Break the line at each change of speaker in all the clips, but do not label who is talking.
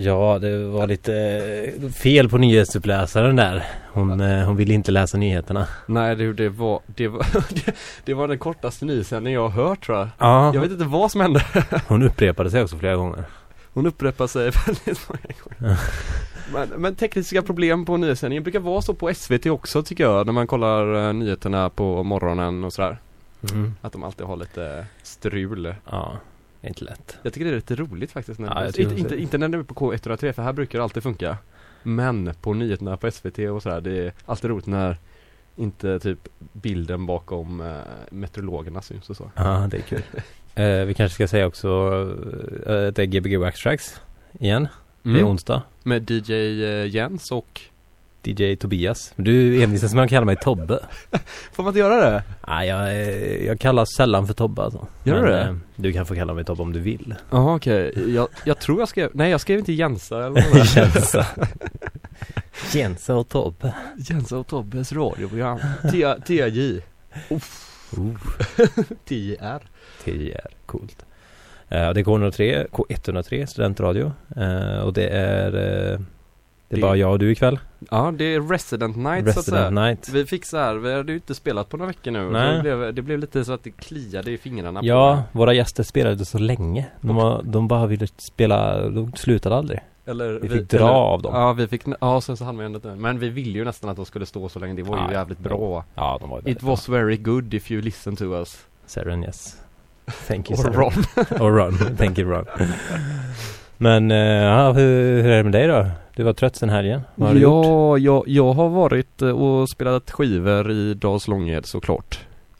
Ja, det var lite fel på nyhetsuppläsaren där. Hon ville inte läsa nyheterna.
Nej, det var den kortaste nyhetssändning jag har hört, tror jag.
Ja.
Jag vet inte vad som hände.
Hon upprepade sig också flera gånger.
Hon upprepar sig väldigt många gånger. Men tekniska problem på nyhetssändningen brukar vara så på SVT också, tycker jag, när man kollar nyheterna på morgonen och sådär. Att de alltid har lite strul.
Ja, det är inte lätt.
Jag tycker det är lite roligt faktiskt.
Inte
när det är på K103, för här brukar det alltid funka. Men på nyheterna på SVT och sådär, det är alltid roligt när inte typ bilden bakom meteorologerna syns och så.
Ja, det är kul. Vi kanske ska säga också att det är Gbg Wax Tracks igen. Det är onsdag.
Med DJ Jens och
DJ Tobias. Du envisas med att kalla mig Tobbe.
Får man inte göra det?
Nej, jag kallas sällan för Tobbe alltså.
Gör du det?
Du kan få kalla mig Tobbe om du vill.
Jaha, okej. Jag tror jag skrev... Nej, jag skrev inte Jensa eller
Jensa. Jensa och Tobbe.
Jensa och Tobbes radioprogram. TJ. TJR.
TJR, coolt. Det är K103 studentradio. Och det är bara jag och du ikväll.
Ja, det är Resident Night, så att säga.
Night.
Vi fick så här, vi hade ju inte spelat på några veckor nu.
Nej.
Det blev lite så att det kliade i fingrarna.
Ja, våra gäster spelade så länge. De bara ville spela, de slutade aldrig. Vi fick dra av dem.
Ja, sen så hann vi ändå. Men vi ville ju nästan att de skulle stå så länge. Det var ju jävligt bra.
Ja, de var ju
It was very good if you listen to us.
Seren, yes. Thank you,
Or Ron.
Or Ron. Thank you, Ron. Men hur är det med dig då? Du var trött sen helgen. Vad har du gjort?
Jag har varit och spelat skivor i Dals Långed, såklart.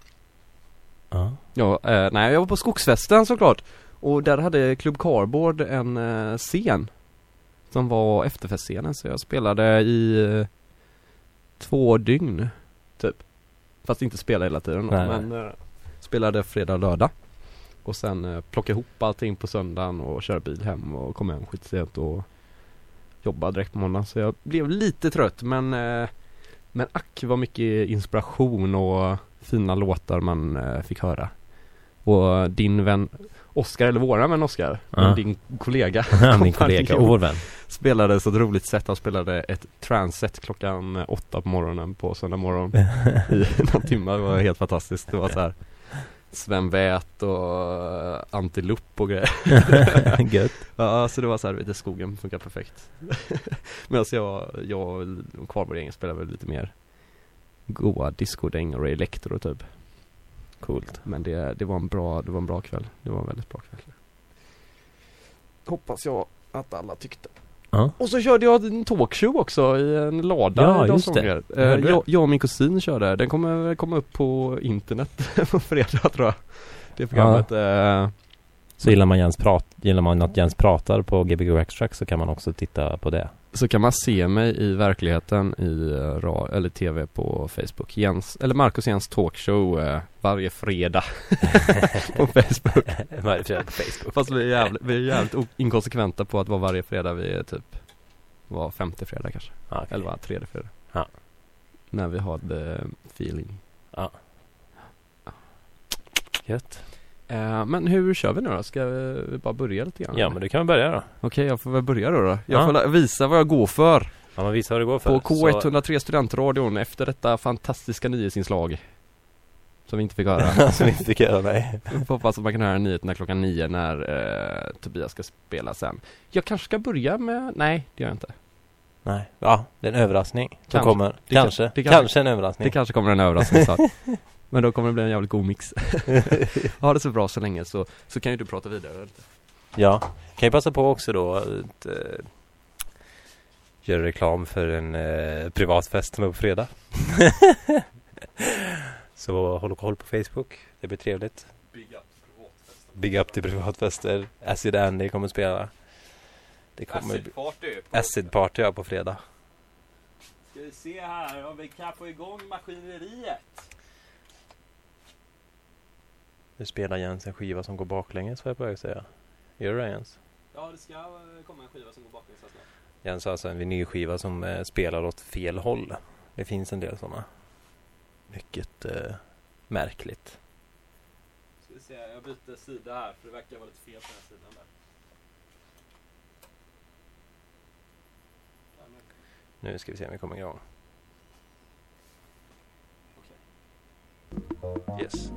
Ja, nej, jag var på Skogsfesten, såklart. Och där hade Club Cardboard en scen som var efterfestscenen. Så jag spelade i 2 dygn typ. Fast inte spela hela tiden då, men spelade fredag och lördag. Och sen plocka ihop allting på söndagen och köra bil hem och komma hem skitsent och jobba direkt på måndag. Så jag blev lite trött, men ack var mycket inspiration och fina låtar man fick höra. Och din vän Oskar, eller våran vän Oskar, din kollega,
min kollega och vår vän,
spelade så ett roligt sätt. Han spelade ett trance-set klockan 8 på morgonen på söndag morgon i någon timme. Det var helt fantastiskt. Det var så här Sven Wät och Antiloop och grejer.
Gött.
Ja, så det var så här, vet, skogen funkar perfekt. Men jag och Kvarborgängen spelade väl lite mer goa disco-däng och elektro typ.
Coolt.
Men det var en bra kväll. Det var en väldigt bra kväll. Hoppas jag att alla tyckte. Och så körde jag en talkshow också i en lada.
Ja, just det.
Jag och min kusin körde. Den kommer komma upp på internet på fredag, tror jag. Det programmet.
Så gillar man att Jens pratar på Gbg Wax Tracks, så kan man också titta på det.
Så kan man se mig i verkligheten eller tv på Facebook. Marcus Jens talkshow varje fredag på Facebook.
Varje fredag på Facebook.
Fast vi är jävligt inkonsekventa på att vara varje fredag. Vi är typ var 5:e fredag kanske.
Okay.
Eller var 3:e fredag.
Ja.
När vi har the feeling.
Ja. Gött.
Men hur kör vi nu då? Ska vi bara börja lite grann?
Ja, men du kan börja då.
Okej, jag får väl börja då. Jag får visa vad jag går för.
Ja, men visa vad du går för.
På K103 studentradion efter detta fantastiska nyhetsinslag. Som vi inte fick höra.
Som vi inte fick höra, nej.
Jag hoppas att man kan höra nyheterna klockan 9 när Tobias ska spela sen. Jag kanske ska börja med... Nej, det gör jag inte.
Nej, ja, det är en överraskning.
Kanske
en överraskning.
Det kanske kommer en överraskning så. Men då kommer det bli en jävligt god mix. Ha det så bra så länge, så kan ju du prata vidare.
Ja, kan jag passa på också då att göra reklam för en privatfest som är på fredag. Så håll på Facebook, det blir trevligt. Big up till privatfester. Acid Andy kommer att spela. Det kommer Acid Party på fredag.
Ska vi se här om vi kan få igång maskineriet.
Nu spelar Jens en skiva som går baklänges, vad jag börjar säga. Gör det, Jens?
Ja, det ska komma en skiva som går baklänges.
Jens har alltså en vinylskiva som spelar åt fel håll. Det finns en del sådana. Mycket märkligt.
Ska vi se, jag byter sida här för det verkar vara lite fel på den här sidan där.
Nu ska vi se om vi kommer igång. Yes.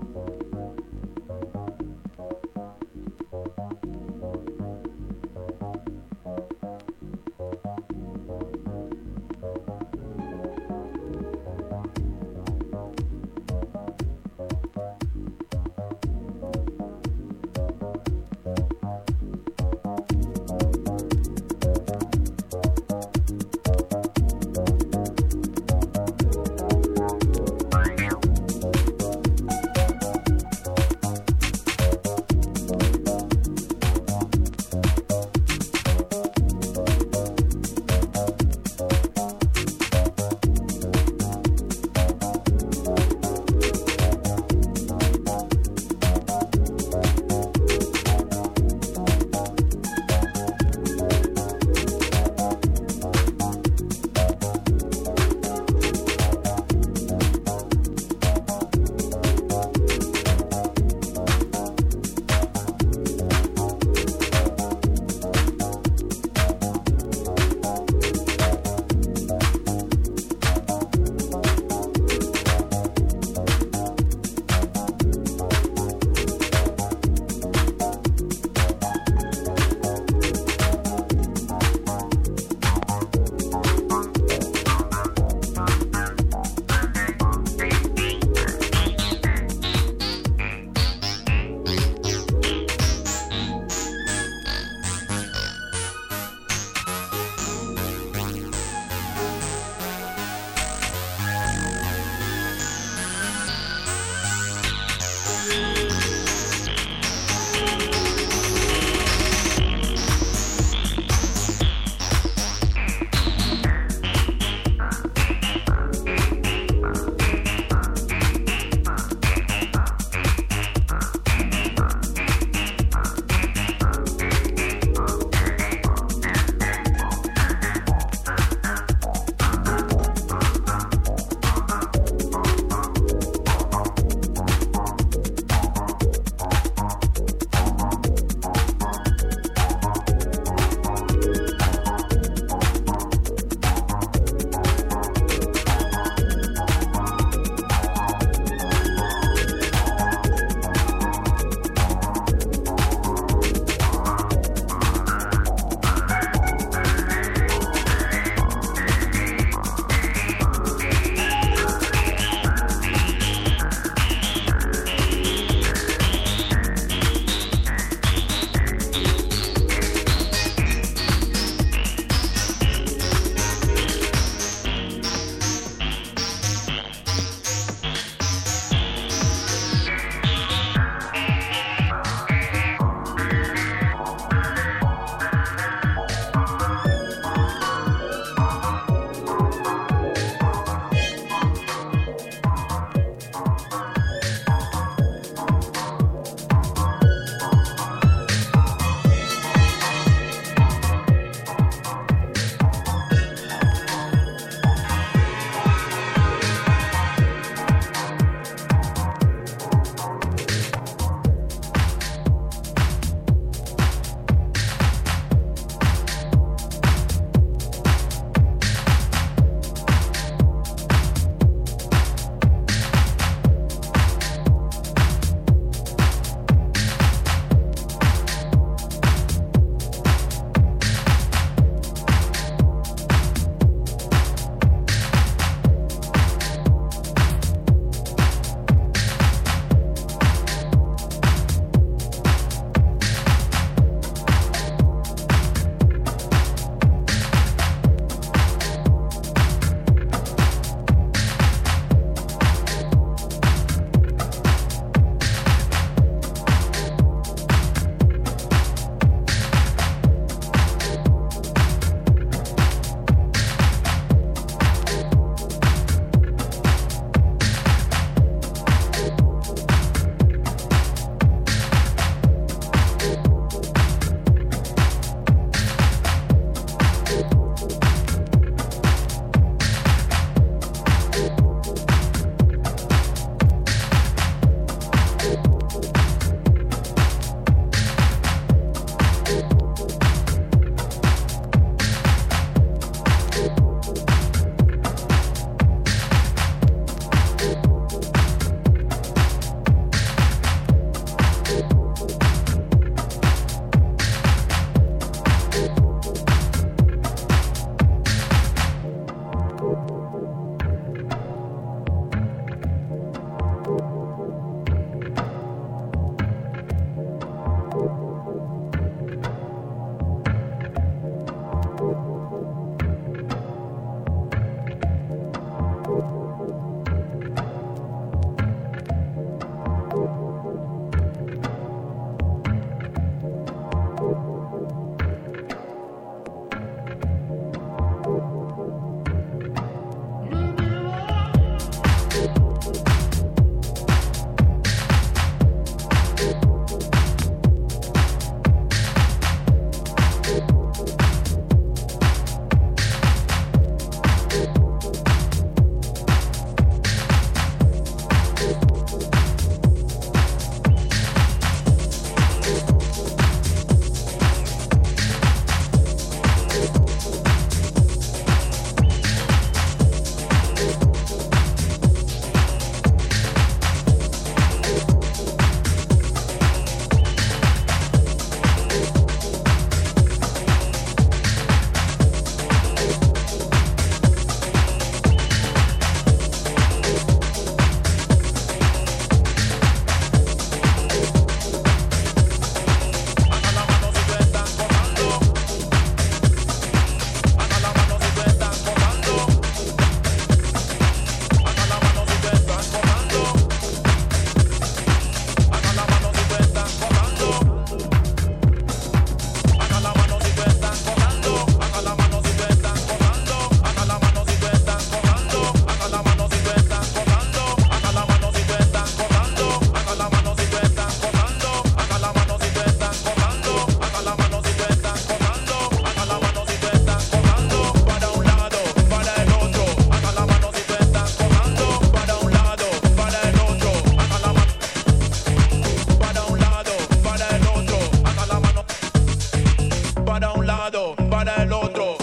lado, para el otro.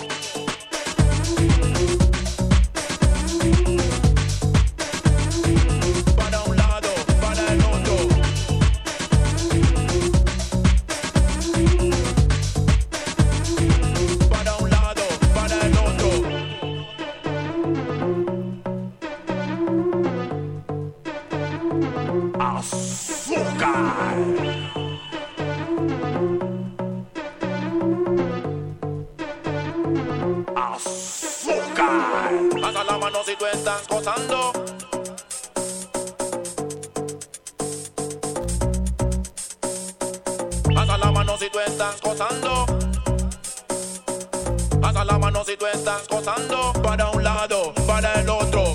Para un lado, para el otro. Para un lado, para el otro. Azúcar. Azúcar. Alza la mano si tú estás gozando. Alza la mano si tú estás gozando. Alza la mano si tú estás gozando. Para un lado, para el otro.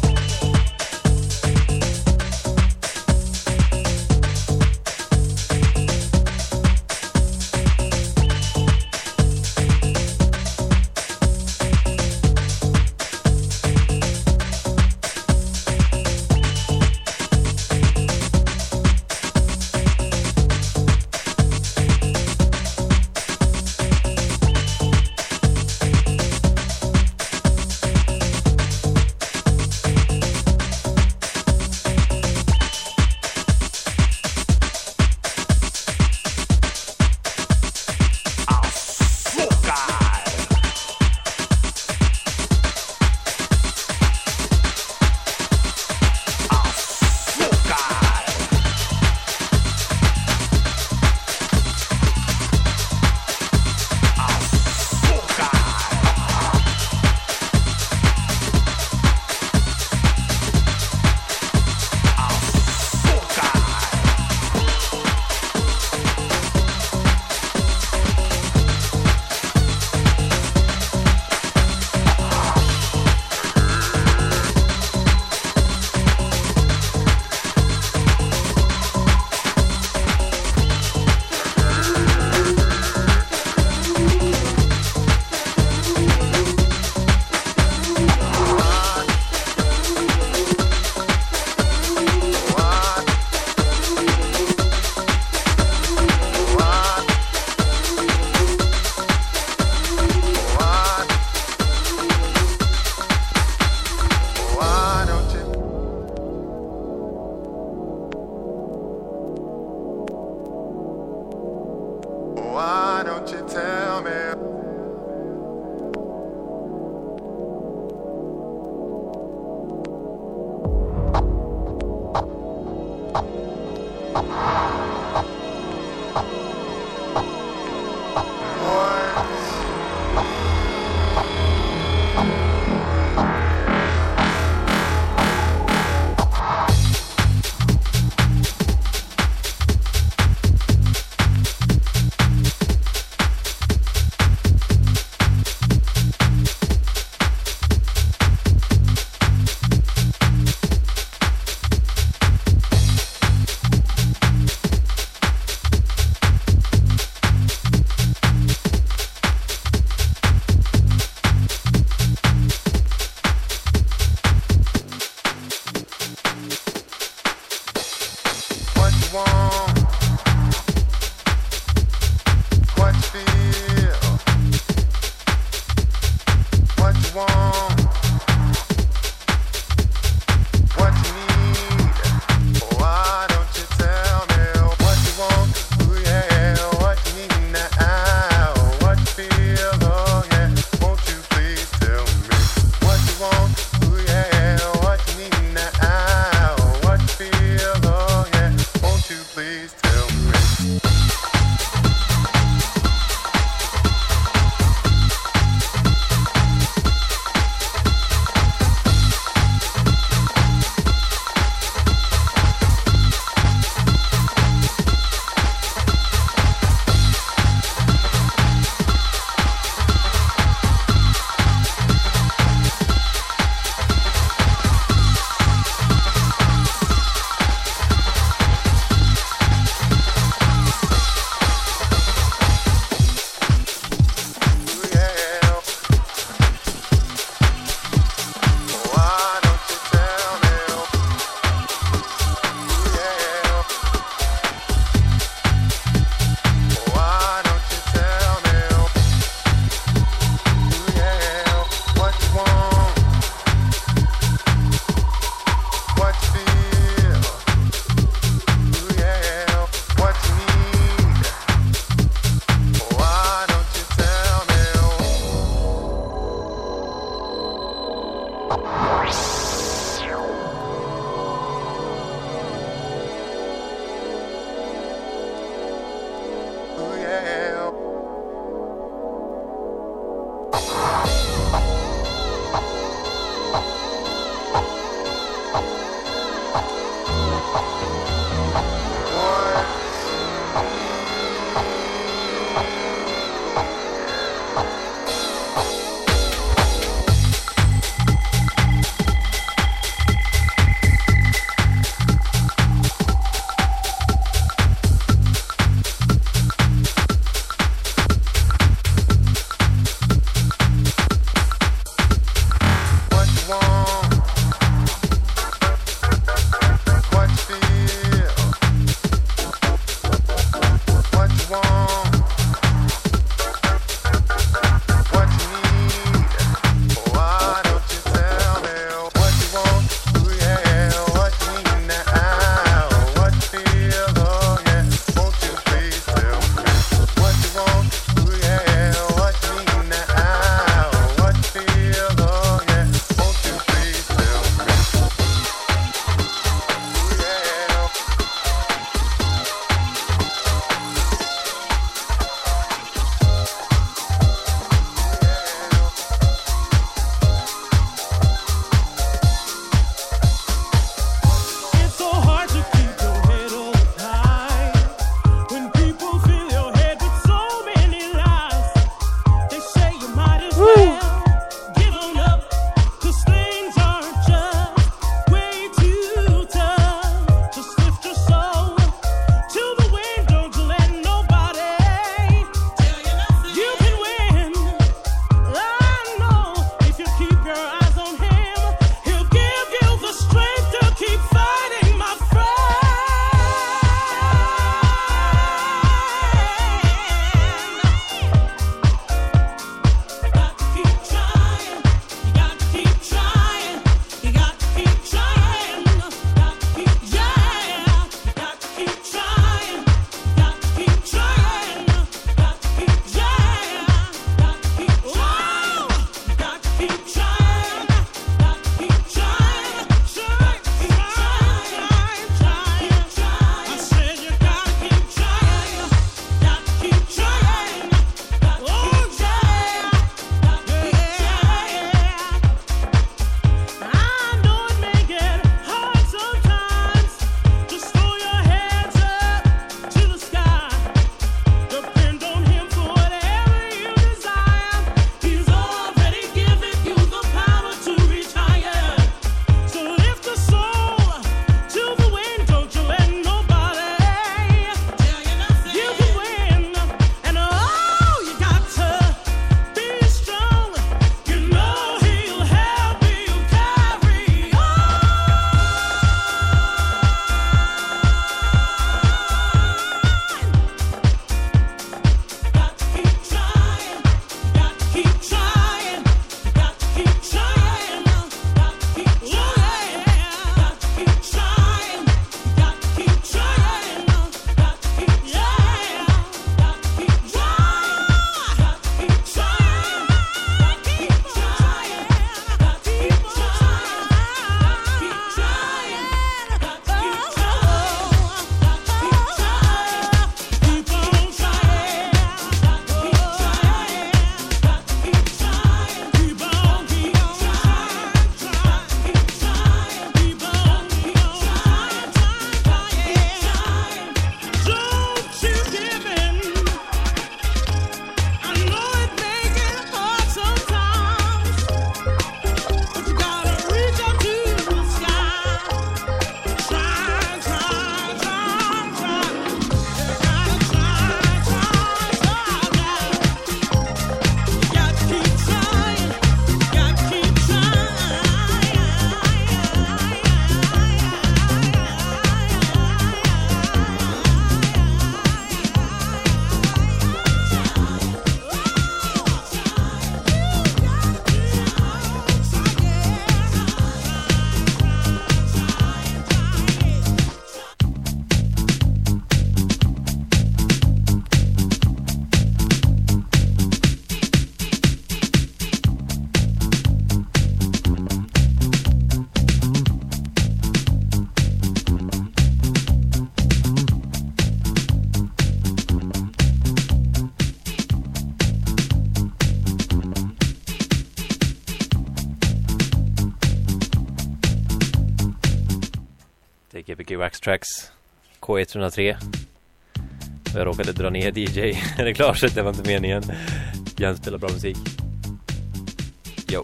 GPG Wax Tracks K103. Jag råkade dra ner DJ-reglaget, det var inte meningen. Jens spelar bra musik. Jo.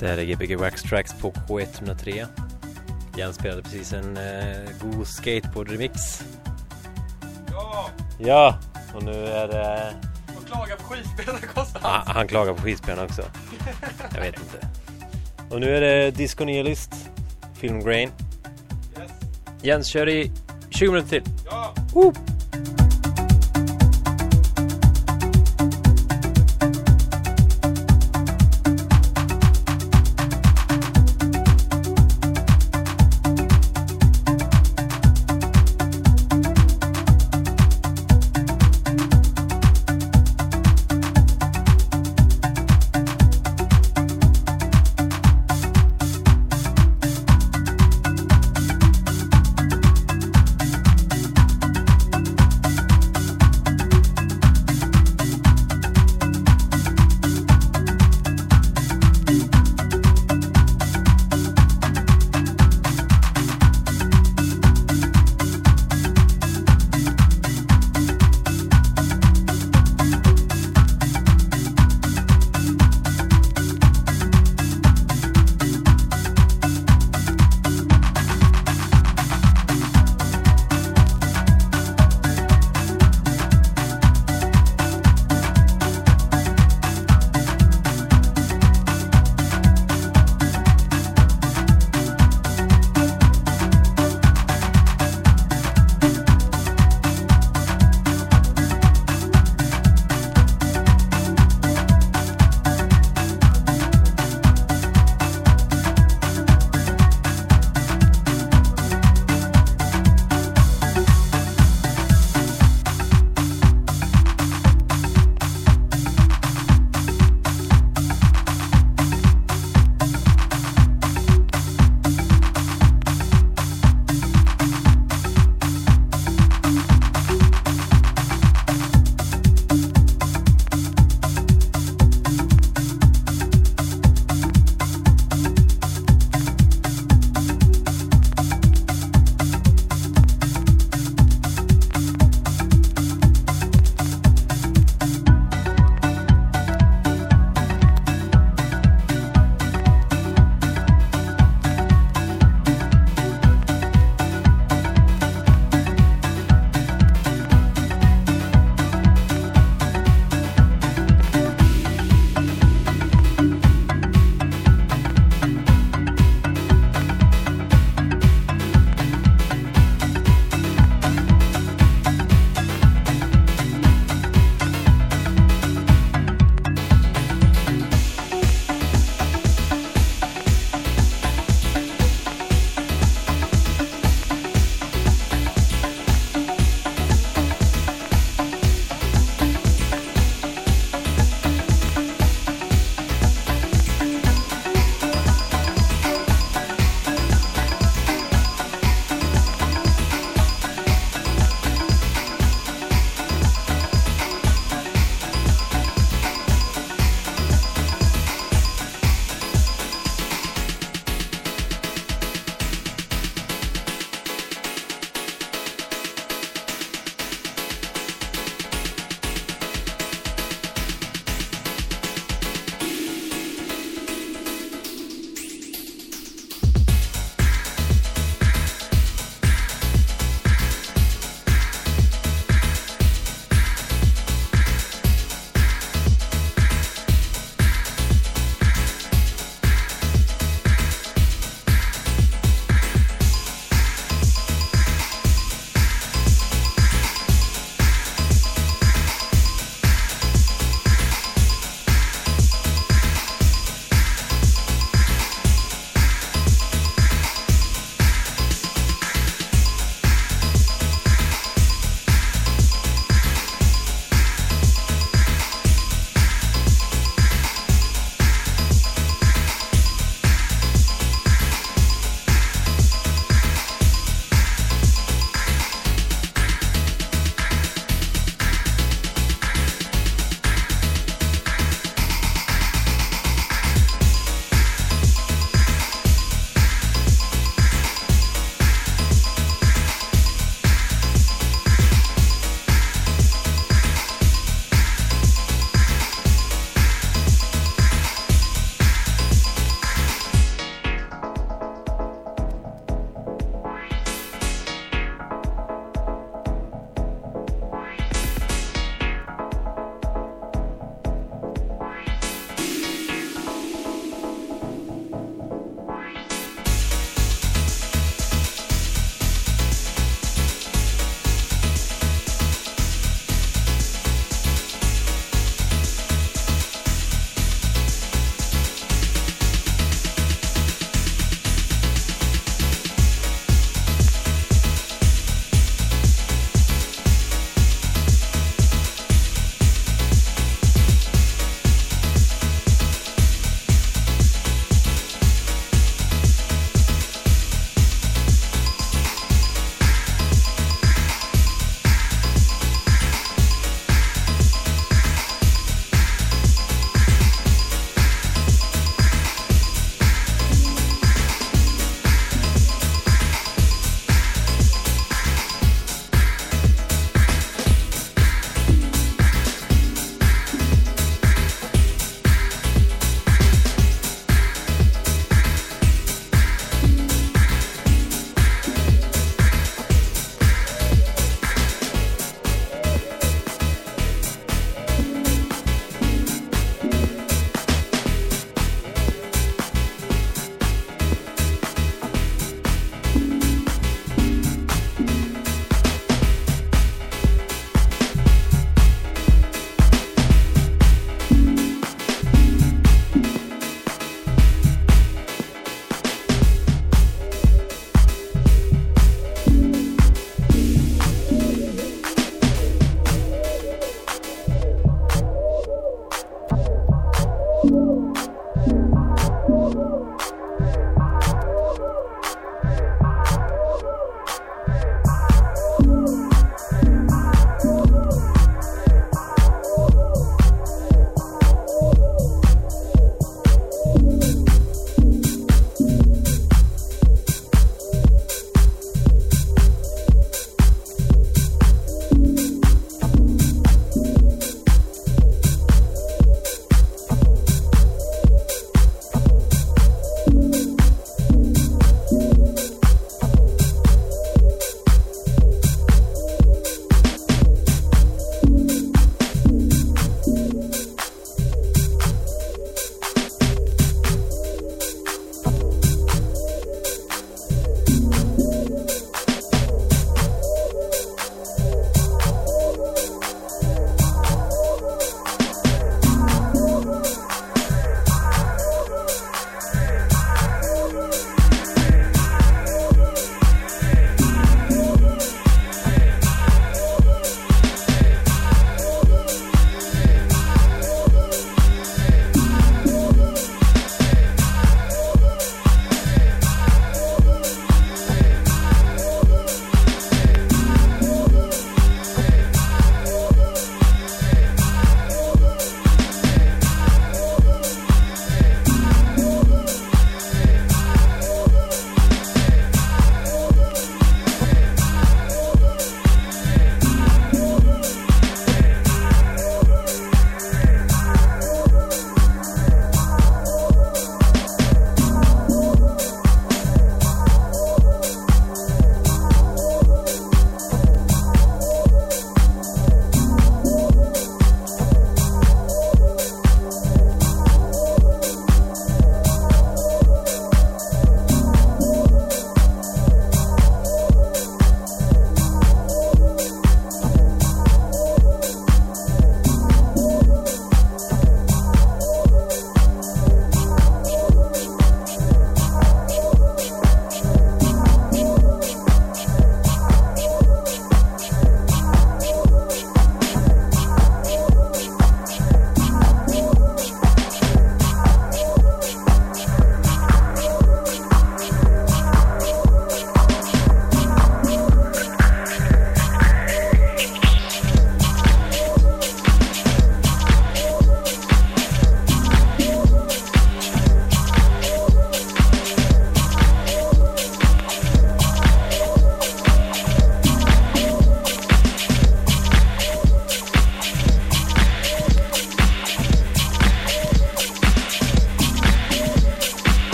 Det här är Gbg Wax Tracks på K103. Jens spelade precis en god skateboard-remix. Ja, och nu är det...
Han klagar på skivspelarna konstant.
Han klagar på skivspelarna också. Jag vet inte. Och nu är det Disco Nihilist, Film Grain.
Yes.
Jens kör i 20 minuter till.
Ja.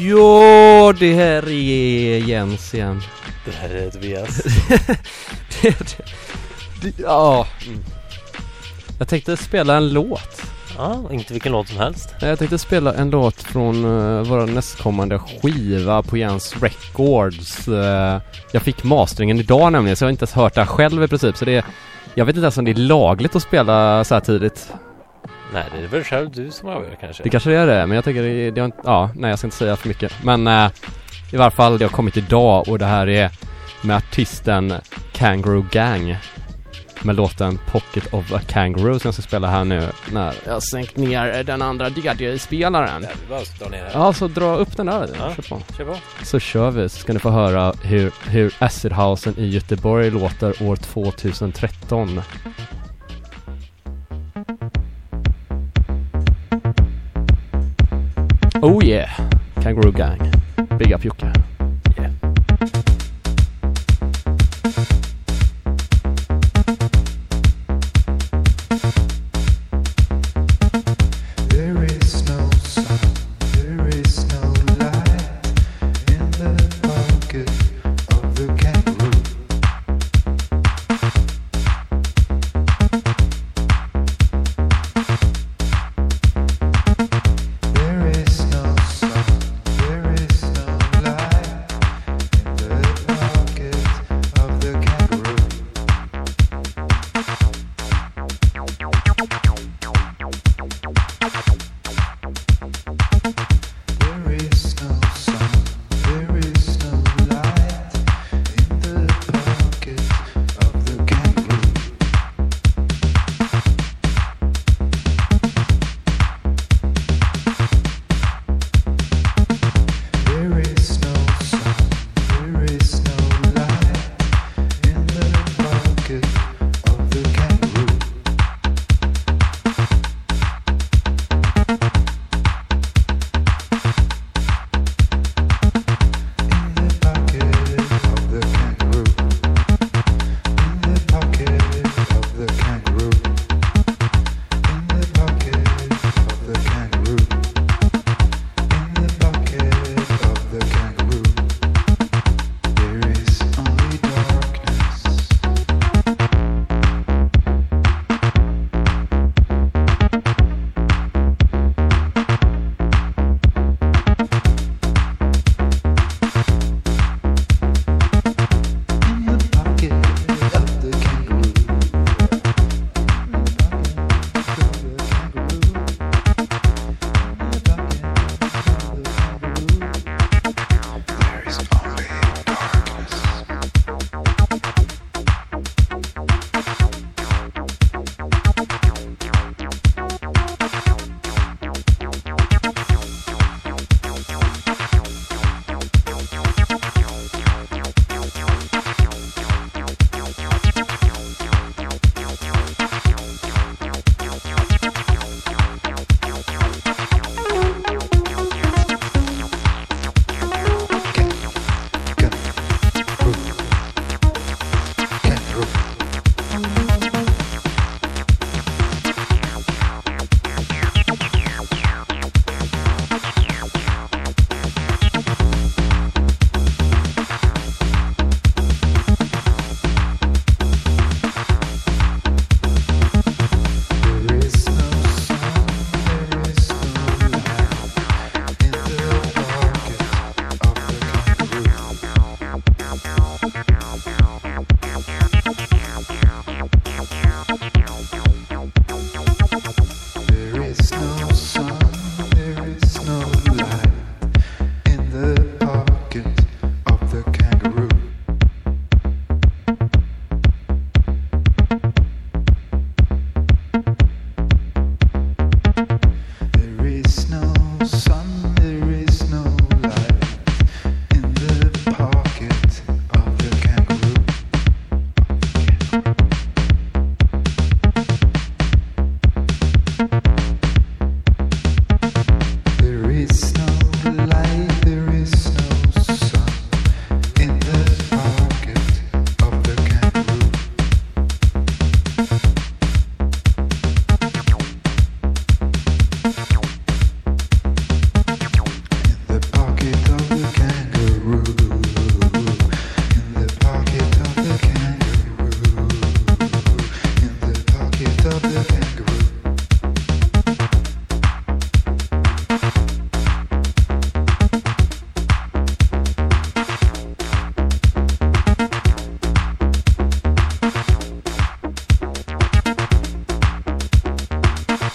Ja, det här är Jens igen.
Det här är Tobias.
Ja. Jag tänkte spela en låt.
Ja, inte vilken låt som helst.
Jag tänkte spela en låt från vår nästkommande skiva på Jens Records. Jag fick masteringen idag nämligen, så jag har inte ens hört det här själv i princip. Så jag vet inte ens om det är lagligt att spela så här tidigt.
Nej, det är väl själv du som avgör kanske.
Det kanske är det, men jag tänker jag ska inte säga för mycket. Men i varje fall, det har kommit idag och det här är med artisten Kangaroo Gang med låten Pocket of a Kangaroo som jag ska spela här nu när jag sänkt ner den andra DJ-spelaren. Ja, så dra upp den där.
Ja, kör på.
Så kör vi, så ska ni få höra hur Acid Housen i Göteborg låter år 2013. Oh yeah, Kangaroo Gang. Big up Jocke. Yeah.
There is no sun, there is no light.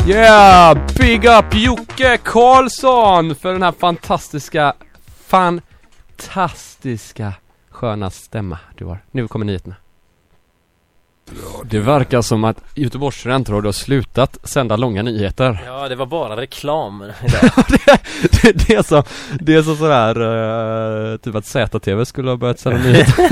Yeah! Big up Jocke Karlsson för den här fantastiska sköna stämma du har. Nu kommer nyheterna. Det verkar som att Göteborgs studentradio har slutat sända långa nyheter.
Ja, det var bara reklam idag.
det är så sådär typ att ZTV skulle ha börjat sända nyheter.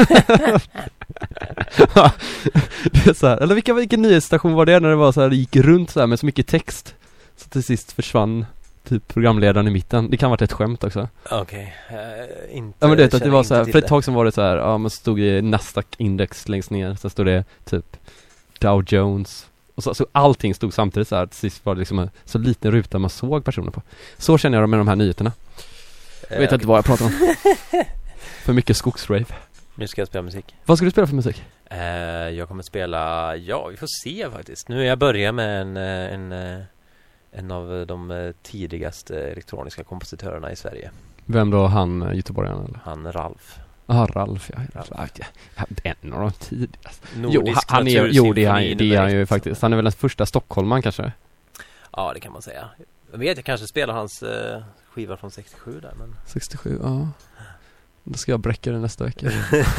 Det är så här, eller vilken nyhetsstation var det när det var så här, det gick runt så här med så mycket text så till sist försvann typ programledaren i mitten. Det kan ha varit ett skämt också.
Okej. Inte.
Ja, men det att det var så här, för ett tag som var det så här, ja, man stod i Nasdaq index längst ner, så stod det typ Dow Jones och så allting stod samtidigt så här, till sist var det liksom en så liten ruta man såg personer på. Så känner jag med de här nyheterna. Jag vet inte vad jag pratar om. För mycket skogsrave.
Nu ska jag spela musik.
Vad ska du spela för musik?
Jag kommer spela, vi får se faktiskt. Nu är jag börjar med en av de tidigaste elektroniska kompositörerna i Sverige.
Vem då? Han göteborgaren eller?
Han Ralf.
Ralf, ja. En av de tidigaste. Det är han ju faktiskt. Han är väl den första stockholmaren kanske?
Ja, det kan man säga. Jag kanske spelar hans skiva från 67 där. Men...
67, ja. Då ska jag bräcka det nästa vecka.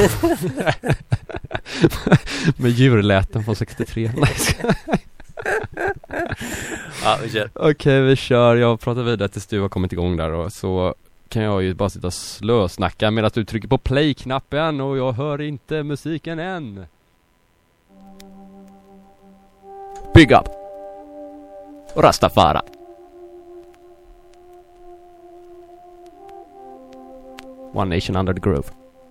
Med djurläten från 63.
Ja, vi kör.
Okej, vi kör. Jag pratar vidare tills du har kommit igång där. Och så kan jag ju bara sitta och slösnacka medan du trycker på play-knappen och jag hör inte musiken än. Big up! Rastafari. One Nation Under the Groove.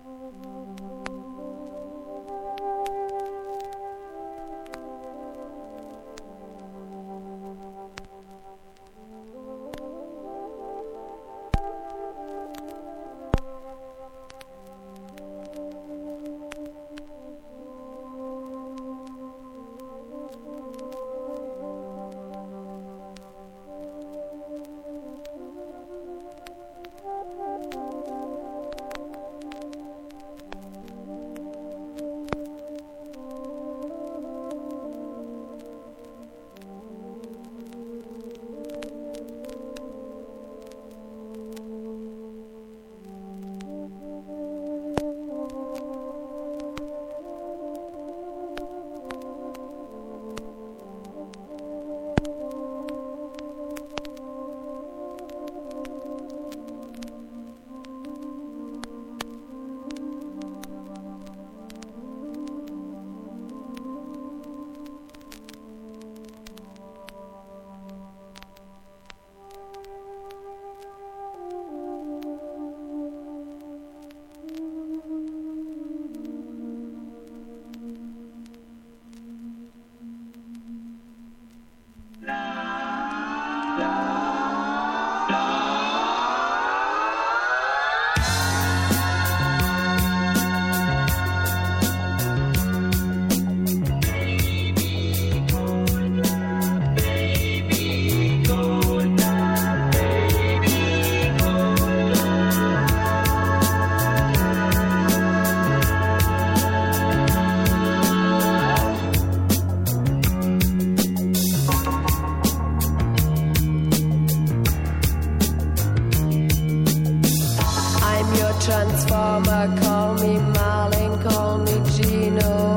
Transformer, call me Marlin, call me Gino,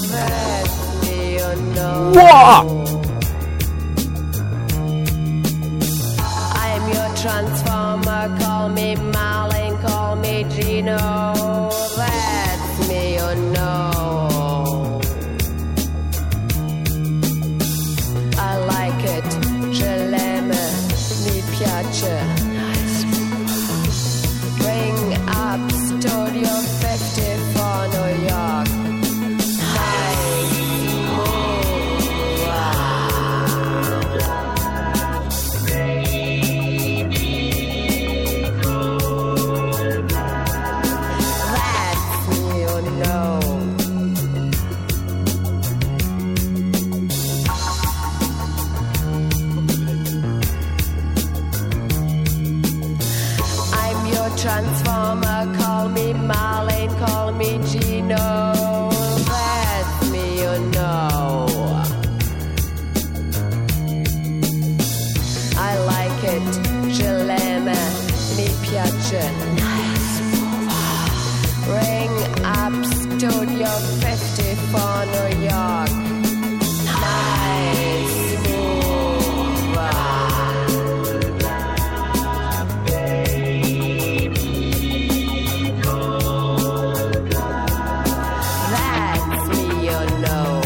let me know. I'm your transformer, call me Marlin, call me Gino, let me know. I like it, je l'aime, mi piace. Studio 54 New York. Nice move. Studio 50 for New York. Nice mover. That's me, you know.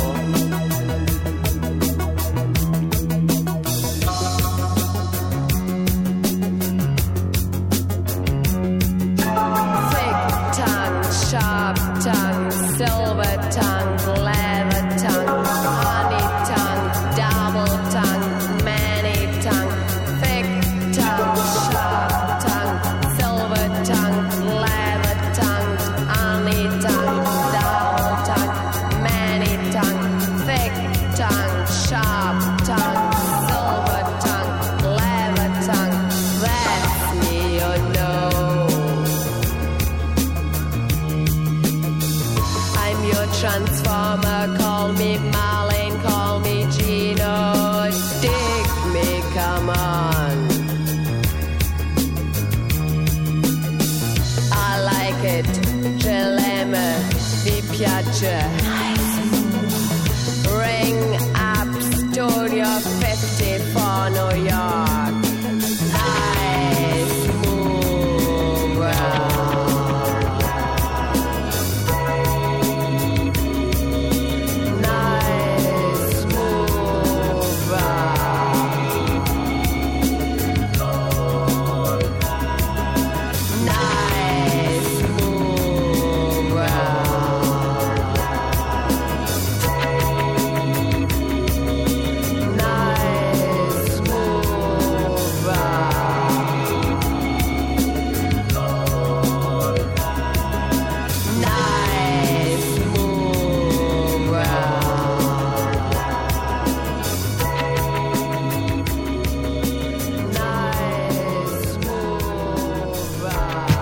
Thick tongue, sharp tongue, silver tongue, leather tongue, honey tongue, double tongue, many tongue. Thick tongue, sharp tongue, silver tongue, leather tongue, honey tongue, double tongue, many tongue. Thick tongue, sharp tongue, silver tongue, leather tongue. That's me, you know. I'm your transformer, call me Marlene, call me Gino. Dig me, come on. I like it, je l'aime, vi piace. Ring up Studio 50 for New York. Nice mover. Nice mover. Nice mover. Nice mover. Nice mover. Nice mover.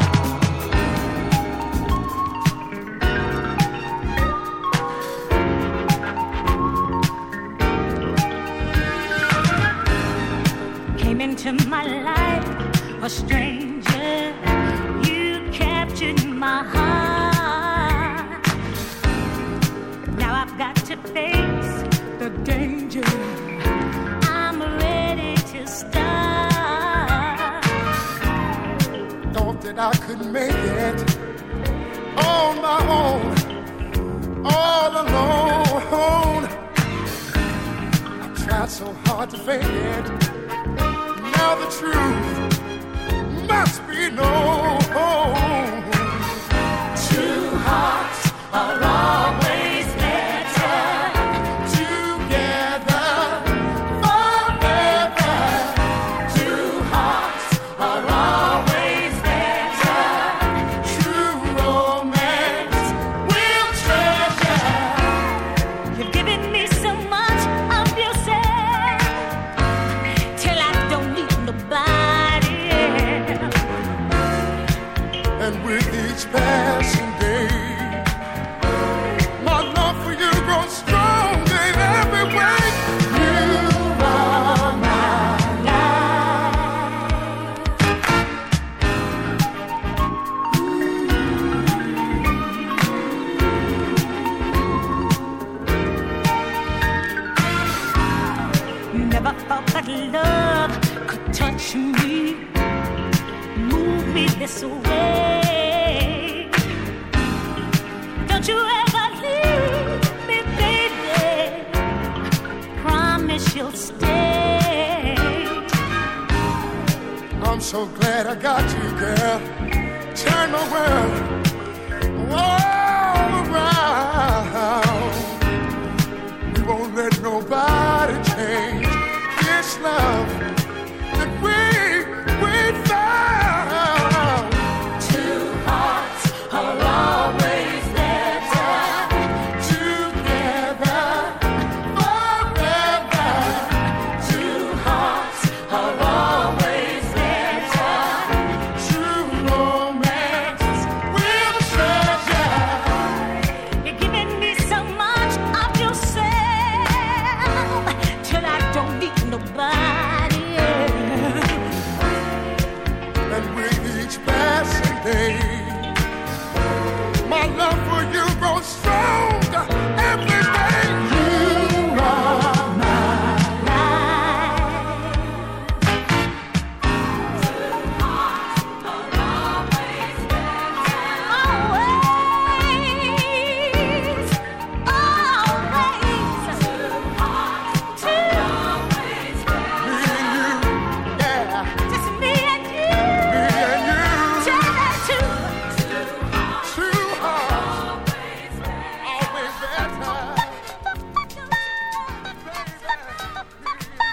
Came into my life a stranger. You captured my heart. Now I've got to face the danger. I'm ready to start.
Thought that I could make it on my own, all alone. I tried so hard to fake it. Now the truth must be known. Two hearts are always better together forever. Two hearts are always better. True romance will treasure.
You've given me so much of yourself till I don't need nobody else.
And with each passing day, my love for you grows stronger in every way. You are my
Never thought that love could touch me, move me this way. Don't you ever leave me, baby. Promise you'll stay.
I'm so glad I got you, girl. Turn my world all around. We won't let nobody change this love that we found. Two hearts are always better together forever. Two hearts are always better. True romance will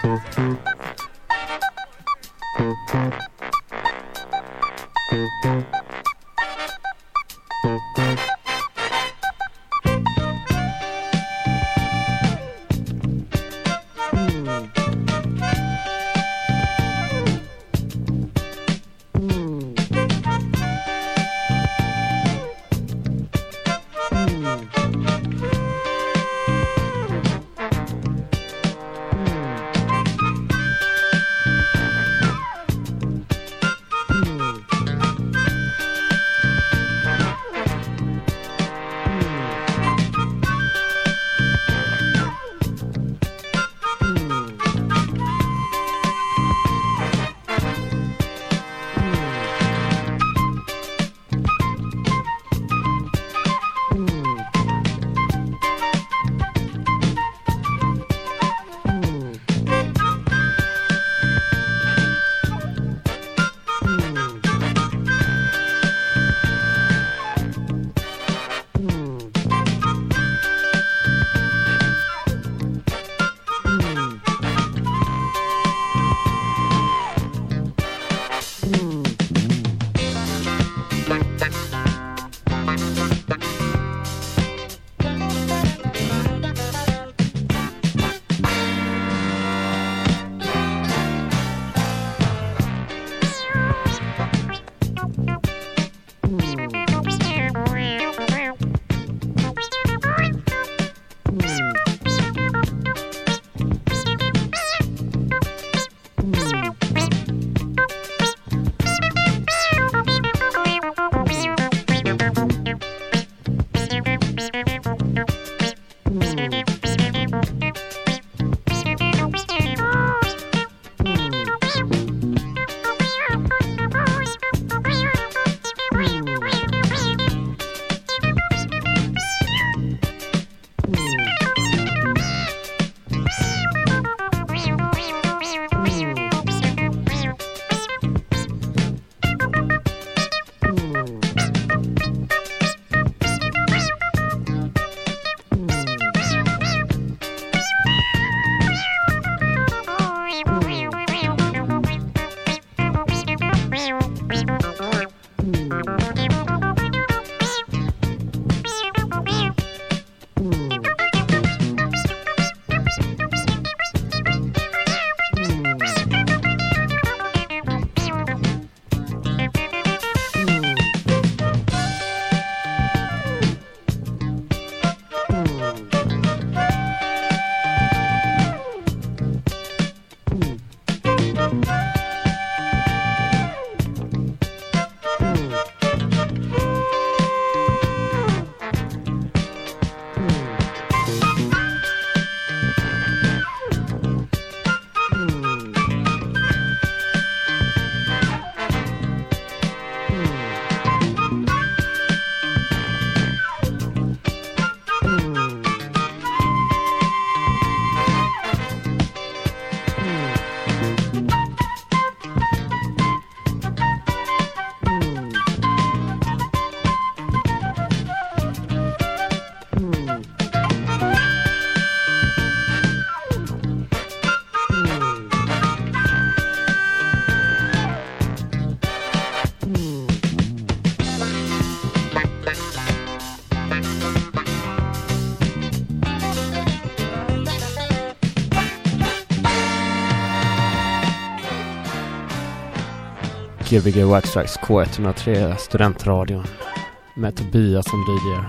Gbg Waxtrax K103 Studentradion med Tobias som DJ.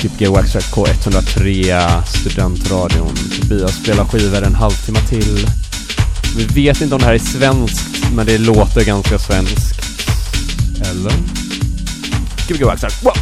Gbg Waxtrack K103 Studentradion. Tobias spelar skivor en halvtimme till. Vi vet inte om det här är svenskt, men det låter ganska svenskt. Eller? Gbg Waxtrack. Wow!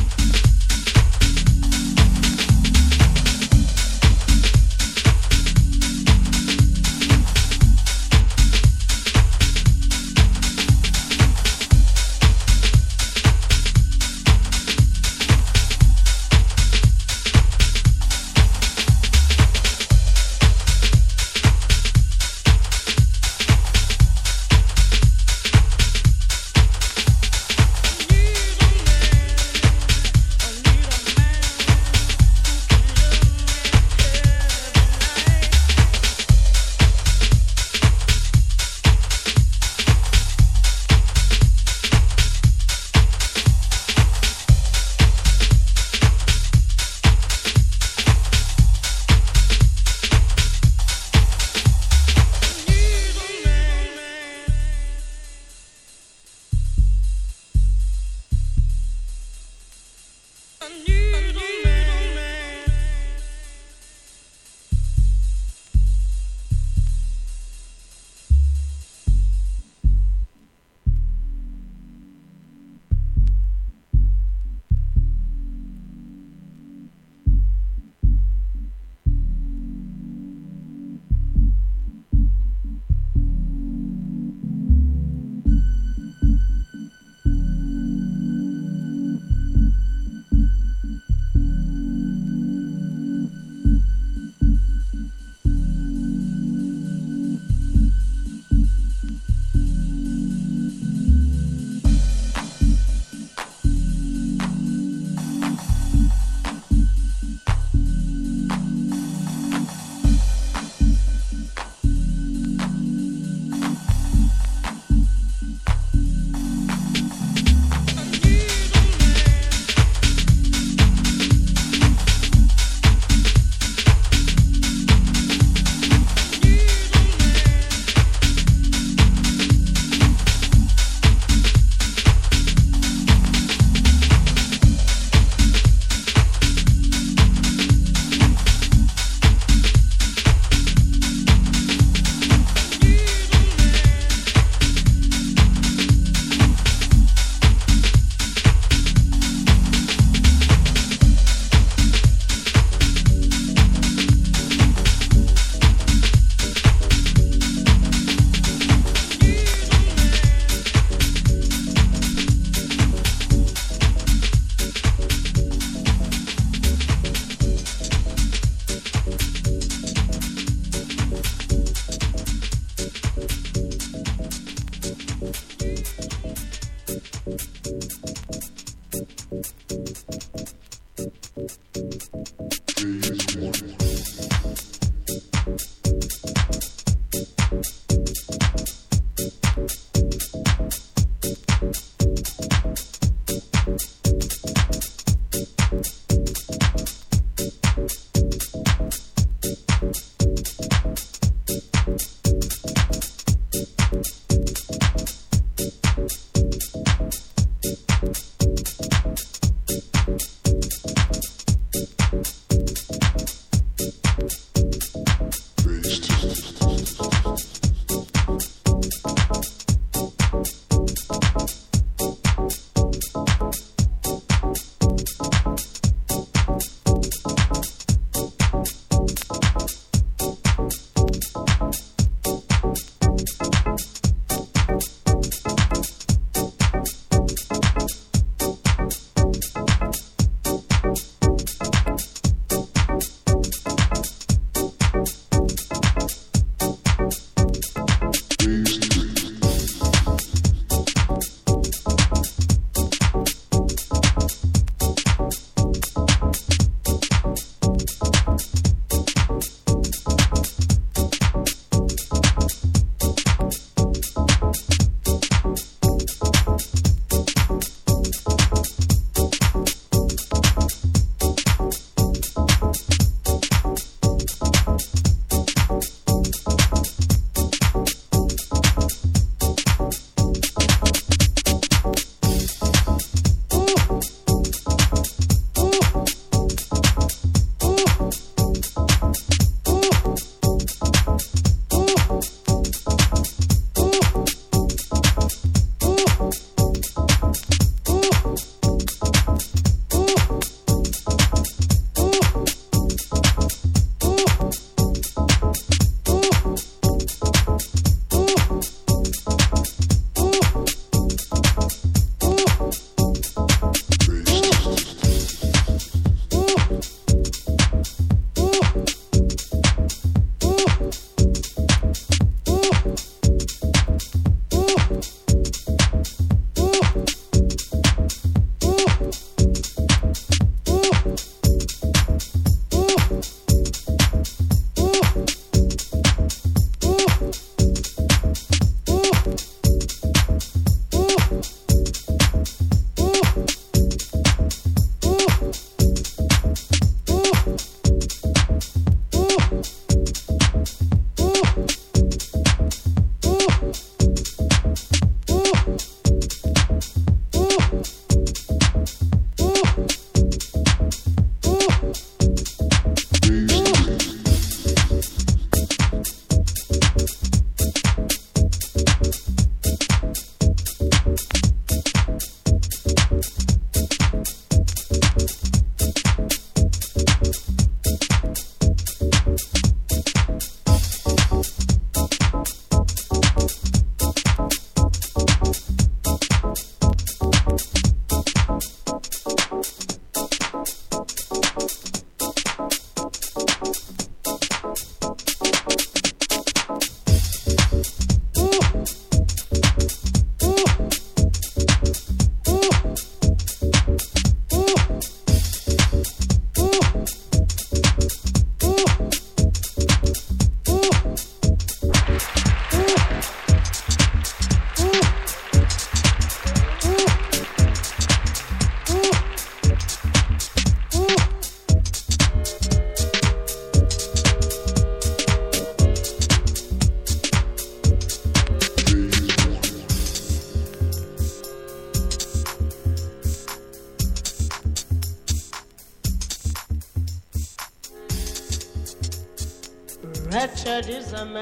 Wretched is a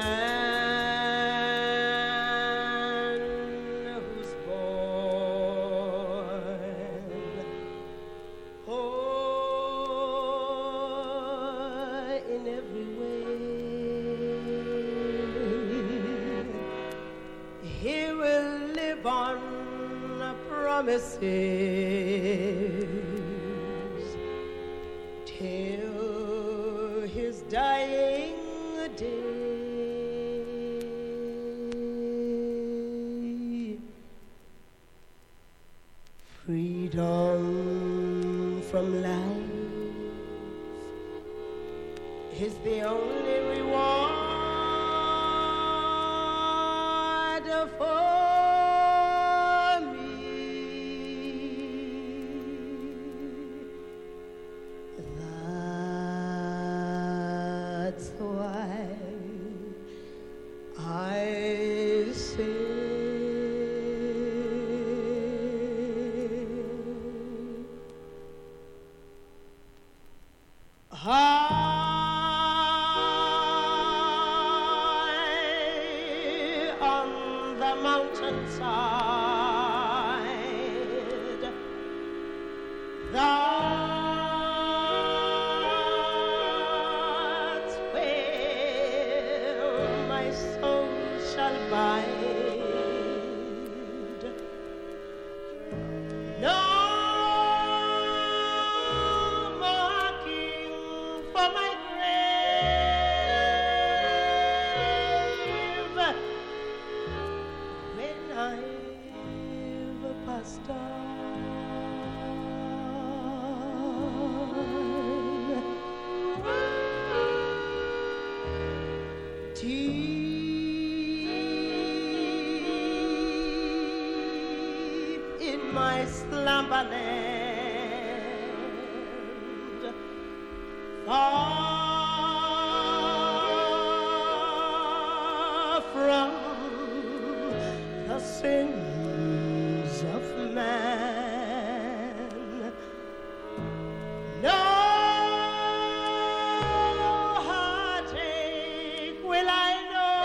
man who's born in every way. He will live on promises till his dying day. Freedom from life is the only reward for me. That's why I sing. High on the mountainside, that's where my soul shall bide. No marking for my grave when I've passed on. Deep in my slumberland, far from the sins of man, no heartache will I know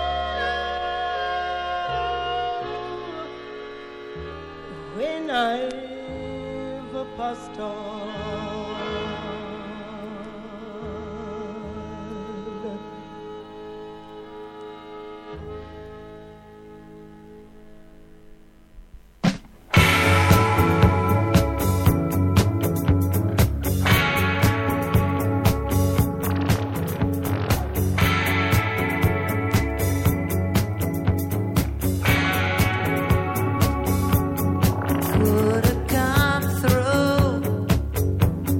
when I've passed on. Could have come through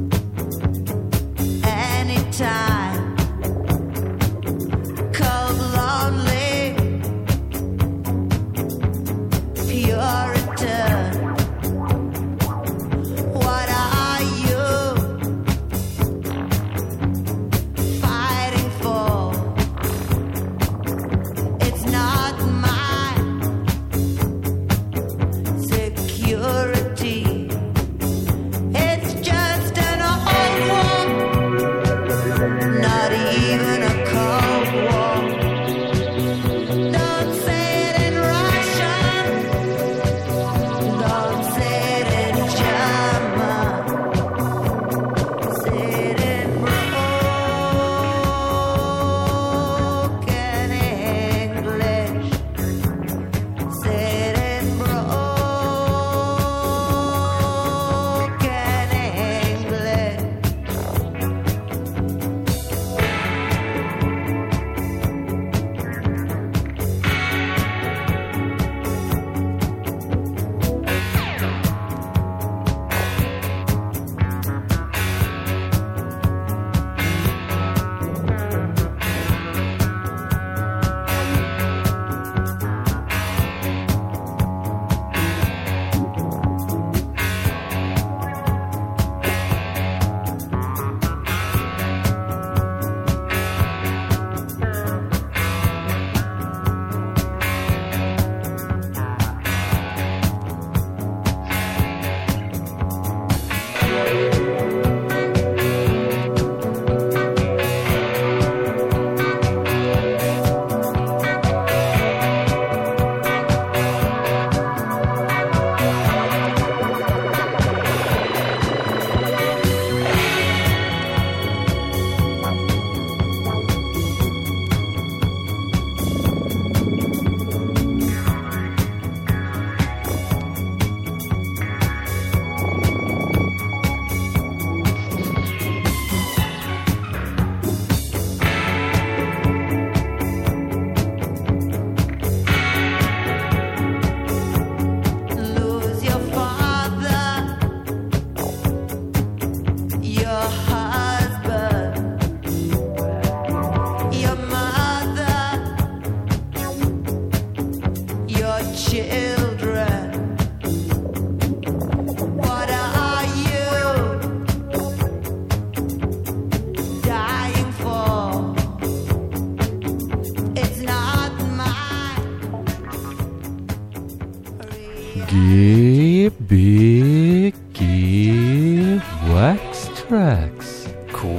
Tracks.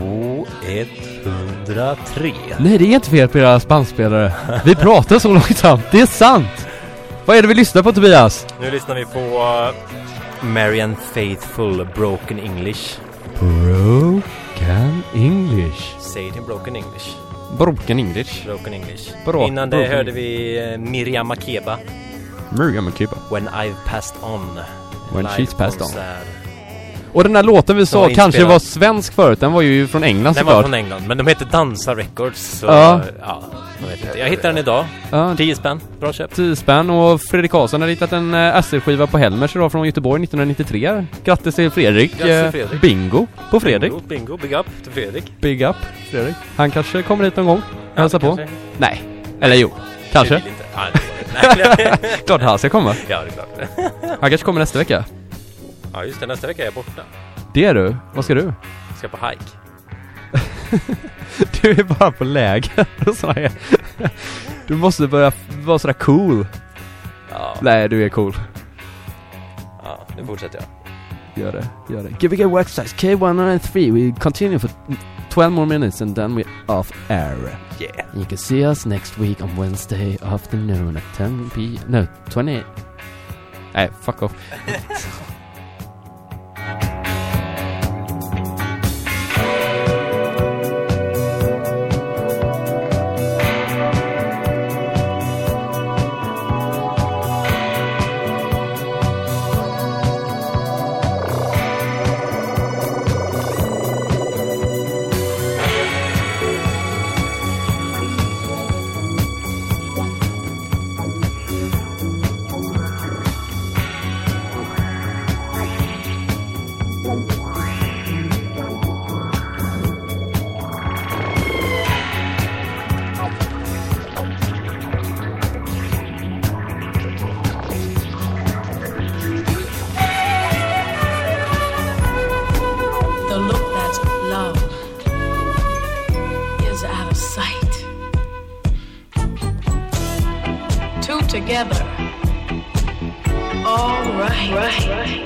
K103.
Nej, det är inte fel på era bandspelare. Vi pratar så långsamt. Det är sant. Vad är det vi lyssnar på, Tobias?
Nu lyssnar vi på Marianne Faithfull, Broken English.
Broken English.
Säg det, Broken English.
Broken English.
Broken English.
Broken
Innan det hörde vi Miriam Makeba.
Miriam Makeba.
When I've passed on.
When
Life
she's passed on.
Sad.
Och den där låten vi sa
var
kanske
inspelad.
var svensk förut. Den var ju från England
Den var
såklart.
från England, men de heter Dansa Records. Så,
Ja.
ja, jag vet inte. Jag hittade den idag.
Ja,
10 spänn. Bra köp.
10 spänn. Och Fredrik Karlsson har hittat en SL-skiva på Helmers idag från Göteborg 1993. Grattis till Fredrik.
Grattis till Fredrik.
Bingo på Fredrik.
Bingo. Big up till Fredrik.
Big up Fredrik. Han kanske kommer hit någon gång. Hälsa på.
kanske.
Nej. Eller jo. Kanske.
Jag vill inte. Nej.
Klart han ska komma.
Ja, det är klart.
Han kanske kommer nästa vecka.
Ja, just det. Nästa vecka är jag borta.
Det är du. Vad ska du?
Jag ska på hike.
Du är bara på läger och sådär. Här. Du måste börja vara sådär cool.
Ja,
Nej, du är cool.
ja, nu fortsätter jag.
Gör det. Give it a work size. K193. We continue for 12 more minutes and then we're off air.
Yeah.
You can see us next week on Wednesday afternoon at 10 p. No, 20. Nej, fuck off.
The look that's love is out of sight. Two together. All right.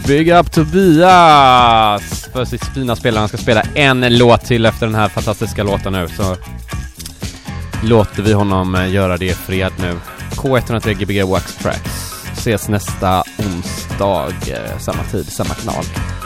Big up Tobias! För sitt fina spelare. Han ska spela en låt till efter den här fantastiska låten nu. Så låter vi honom göra det i fred nu. K103 Gbg Wax Tracks. Ses nästa onsdag, samma tid, samma kanal.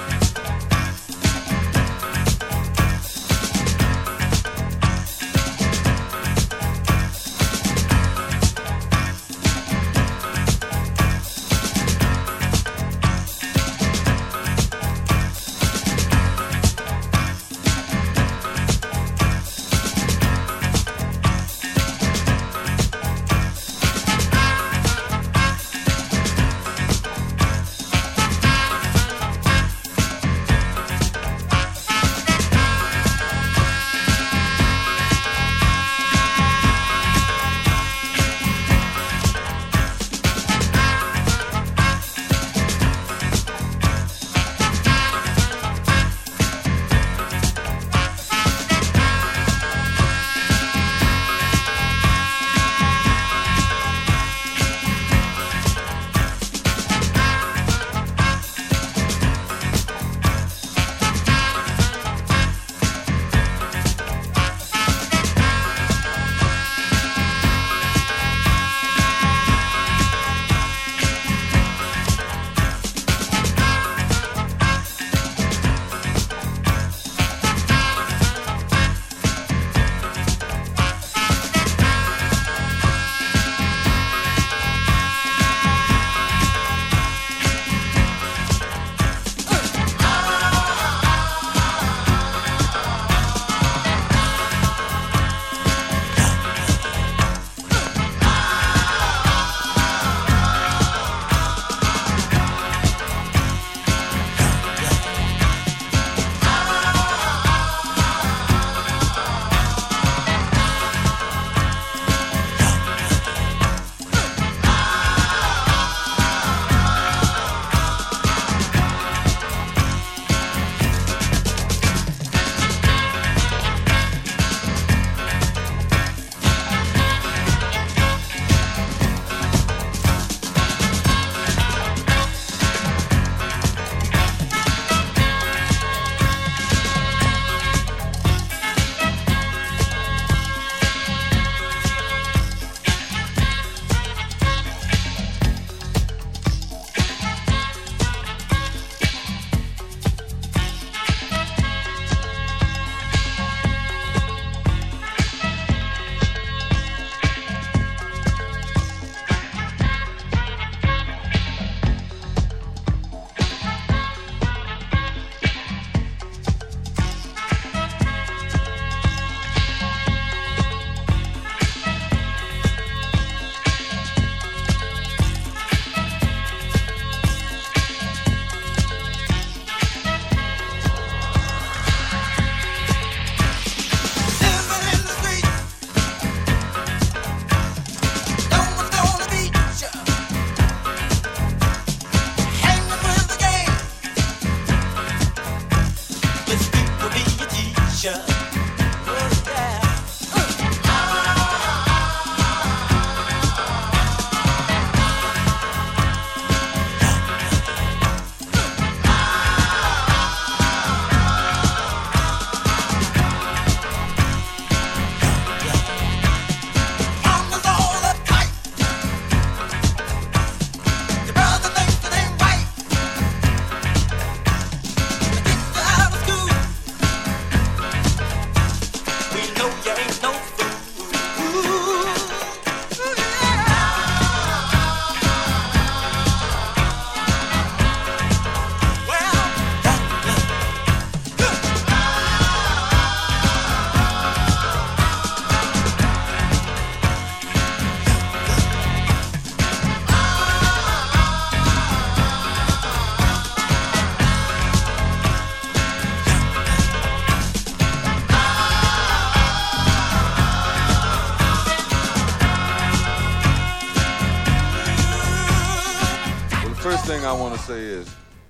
thing I want to say is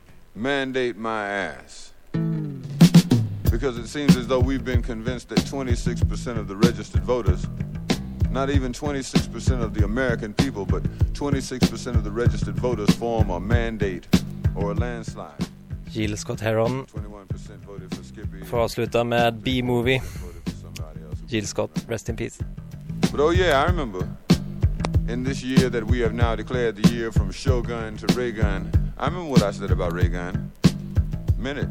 mandate my ass. Because it seems as though we've been convinced that 26% of the registered voters, not even 26% of the American people, but 26% of the registered voters form a mandate or a landslide.
Jill Scott Heron
21% voted for Skippy.
får avsluta med B-movie. Jill Scott, rest in peace.
But oh yeah, I remember in this year that we have now declared the year from Shogun to Reagan. I remember what I said about Reagan. Minute.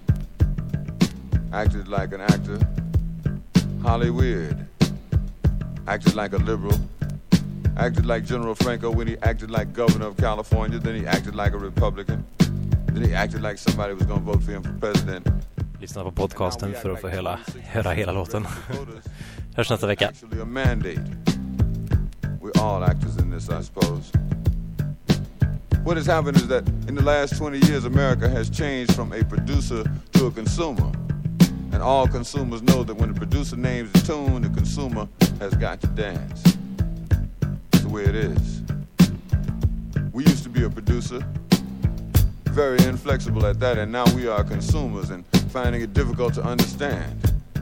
Acted like an actor. Hollywood. Acted like a liberal. Acted like General Franco when he acted like governor of California. Then he acted like a Republican. Then he acted like somebody was going to vote for him for president.
Lyssna på podcasten för att få höra hela låten. Hörs nästa vecka.
Actually a mandate. We're all actors in this, I suppose. What has happened is that in the last 20 years, America has changed from a producer to a consumer. And all consumers know that when the producer names the tune, the consumer has got to dance. That's the way it is. We used to be a producer, very inflexible at that, and now we are consumers and finding it difficult to understand.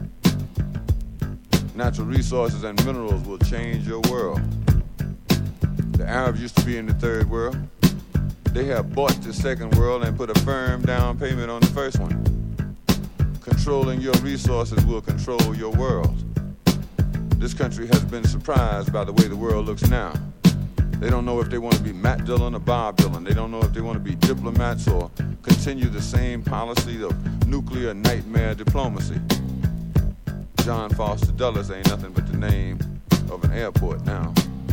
Natural resources and minerals will change your world. The Arabs used to be in the third world. They have bought the second world and put a firm down payment on the first one. Controlling your resources will control your world. This country has been surprised by the way the world looks now. They don't know if they want to be Matt Dillon or Bob Dylan. They don't know if they want to be diplomats or continue the same policy of nuclear nightmare diplomacy. John Foster Dulles ain't nothing but the name of an airport now.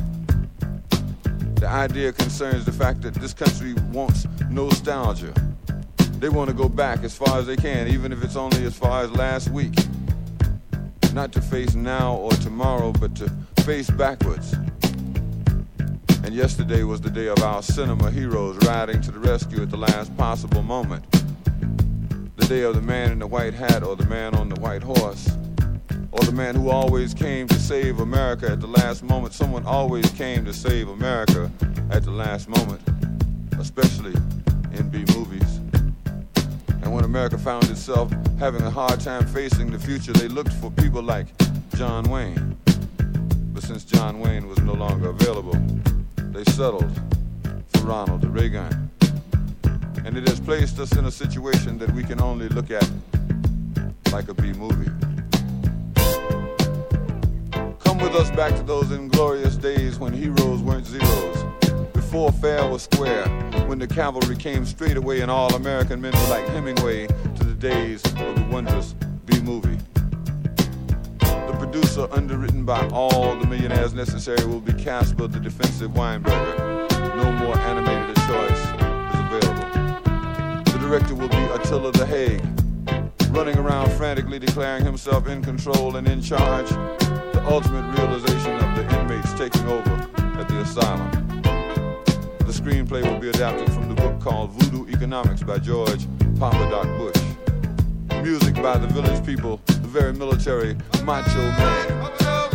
The idea concerns the fact that this country wants nostalgia. They want to go back as far as they can, even if it's only as far as last week. Not to face now or tomorrow, but to face backwards. And yesterday was the day of our cinema heroes riding to the rescue at the last possible moment. The day of the man in the white hat or the man on the white horse. Or the man who always came to save America at the last moment. Someone always came to save America at the last moment, especially in B-movies. And when America found itself having a hard time facing the future, they looked for people like John Wayne. But since John Wayne was no longer available, they settled for Ronald Reagan. And it has placed us in a situation that we can only look at like a B-movie. Come with us back to those inglorious days when heroes weren't zeros, before fair was square, when the cavalry came straight away and all American men were like Hemingway, to the days of the wondrous B-movie. The producer, underwritten by all the millionaires necessary, will be Casper the Defensive Weinberger. No more animated a choice is available. The director will be Attila the Hague, running around frantically declaring himself in control and in charge. The ultimate realization of the inmates taking over at the asylum. The screenplay will be adapted from the book called Voodoo Economics by George Papa Doc Bush. Music by the village people, the very military macho man.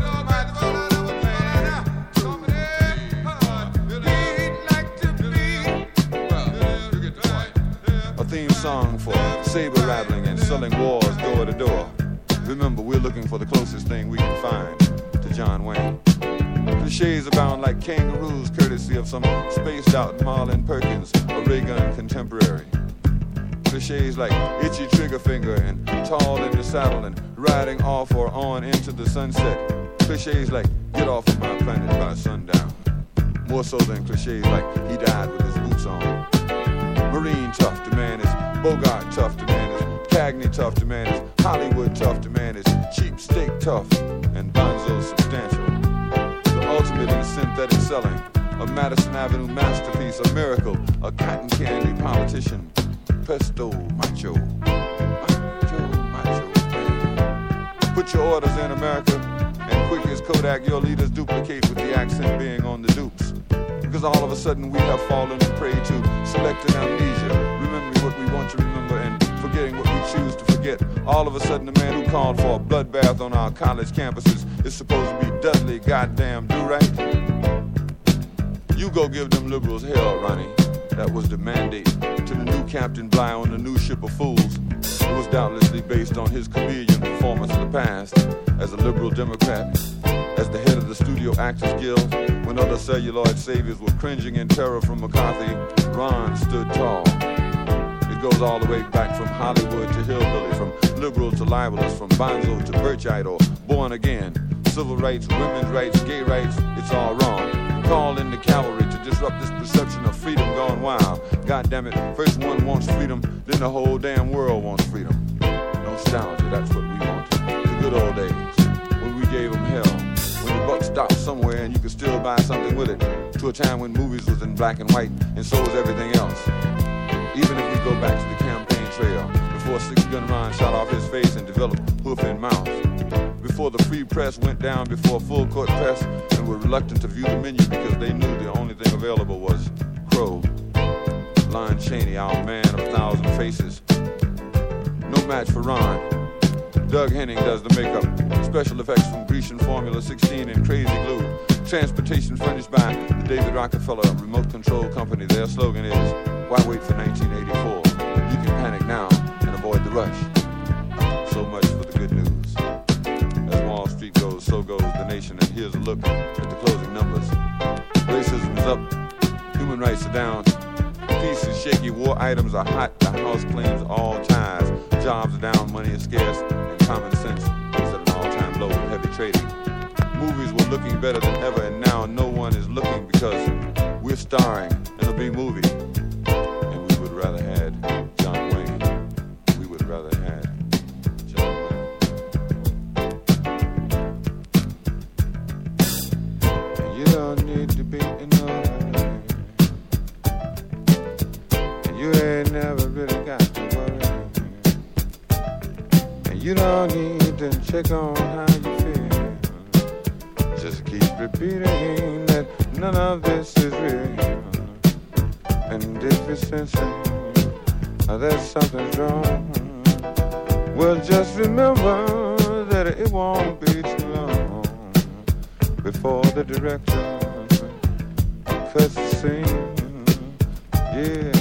A theme song for saber rattling and selling wars door to door. Remember, we're looking for the closest thing we can find to John Wayne. Clichés abound like kangaroos, courtesy of some spaced out Marlon Perkins, a Reagan contemporary. Clichés like itchy trigger finger and tall in the saddle and riding off or on into the sunset. Clichés like get off of my planet by sundown. More so than clichés like he died with his boots on. Marine tough to man is Bogart tough to man is Cagney tough to man is Hollywood tough to man is cheap steak tough and Bonzo substantial. The ultimate in synthetic selling, a Madison Avenue masterpiece, a miracle, a cotton candy politician. Pesto macho, macho man. Put your orders in, America, and quick as Kodak your leaders duplicate with the accent being on the dupes. Because all of a sudden we have fallen prey to selective amnesia, remembering what we want to remember and forgetting what we choose to forget. All of a sudden the man who called for a bloodbath on our college campuses is supposed to be Dudley goddamn do-right. You go give them liberals hell, Ronnie. That was the mandate to the new Captain Bligh on the new ship of fools. It was doubtlessly based on his chameleon performance in the past as a liberal Democrat, as the head of the Studio Actors Guild. When other celluloid saviors were cringing in terror from McCarthy, Ron stood tall. It goes all the way back from Hollywood to hillbilly, from liberal to libelous, from bonzo to birchite or born again. Civil rights, women's rights, gay rights, it's all wrong. Call in the cavalry to disrupt this perception of freedom gone wild. God damn it, first one wants freedom, then the whole damn world wants freedom. Nostalgia, that's what we want. The good old days, when we gave them hell. When the buck stopped somewhere and you could still buy something with it. To a time when movies was in black and white, and so was everything else. Even if we go back to the campaign trail, before a 6-gun Ron shot off his face and developed hoof and mouth. Before the free press went down before full court press and were reluctant to view the menu because they knew the only thing available was Crow. Lon Chaney, our man of 1,000 faces. No match for Ron. Doug Henning does the makeup. Special effects from Grecian Formula 16 and Crazy Glue. Transportation furnished by the David Rockefeller Remote Control Company. Their slogan is, why wait for 1984? You can panic now and avoid the rush. So much for the good news. As Wall Street goes, so goes the nation. And here's a look at the closing numbers. Racism is up. Human rights are down. Peace is shaky. War items are hot. The house claims all ties. Jobs are down. Money is scarce. And common sense is at an all-time low with heavy trading. Movies were looking better than ever, and now no one is looking because we're starring in a big movie. And we would rather had John Wayne. We would rather had John Wayne. And you don't need to be in no hurry. And you ain't never really got to worry. And you don't need to check on how you feel. Just keep repeating that none of this is real. And if you're sensing that something's wrong, well, just remember that it won't be too long before the director cuts the scene. Yeah.